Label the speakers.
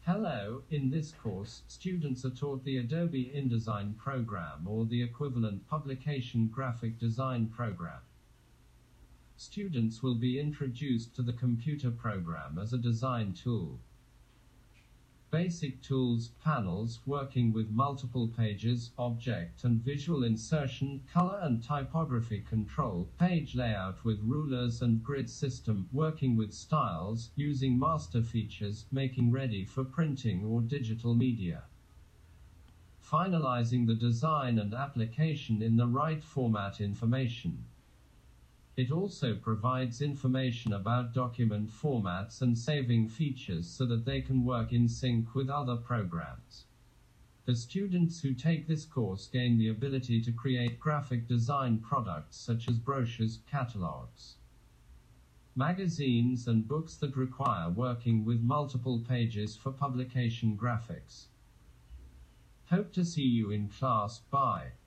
Speaker 1: Hello, in this course, students are taught the Adobe InDesign program or the equivalent publication graphic design program. Students will be introduced to the computer program as a design tool. Basic tools, panels, working with multiple pages, object and visual insertion, color and typography control, page layout with rulers and grid system, working with styles, using master features, making ready for printing or digital media. Finalizing the design and application in the right format information. It also provides information about document formats and saving features so that they can work in sync with other programs. The students who take this course gain the ability to create graphic design products such as brochures, catalogs, magazines and books that require working with multiple pages for publication graphics. Hope to see you in class. Bye.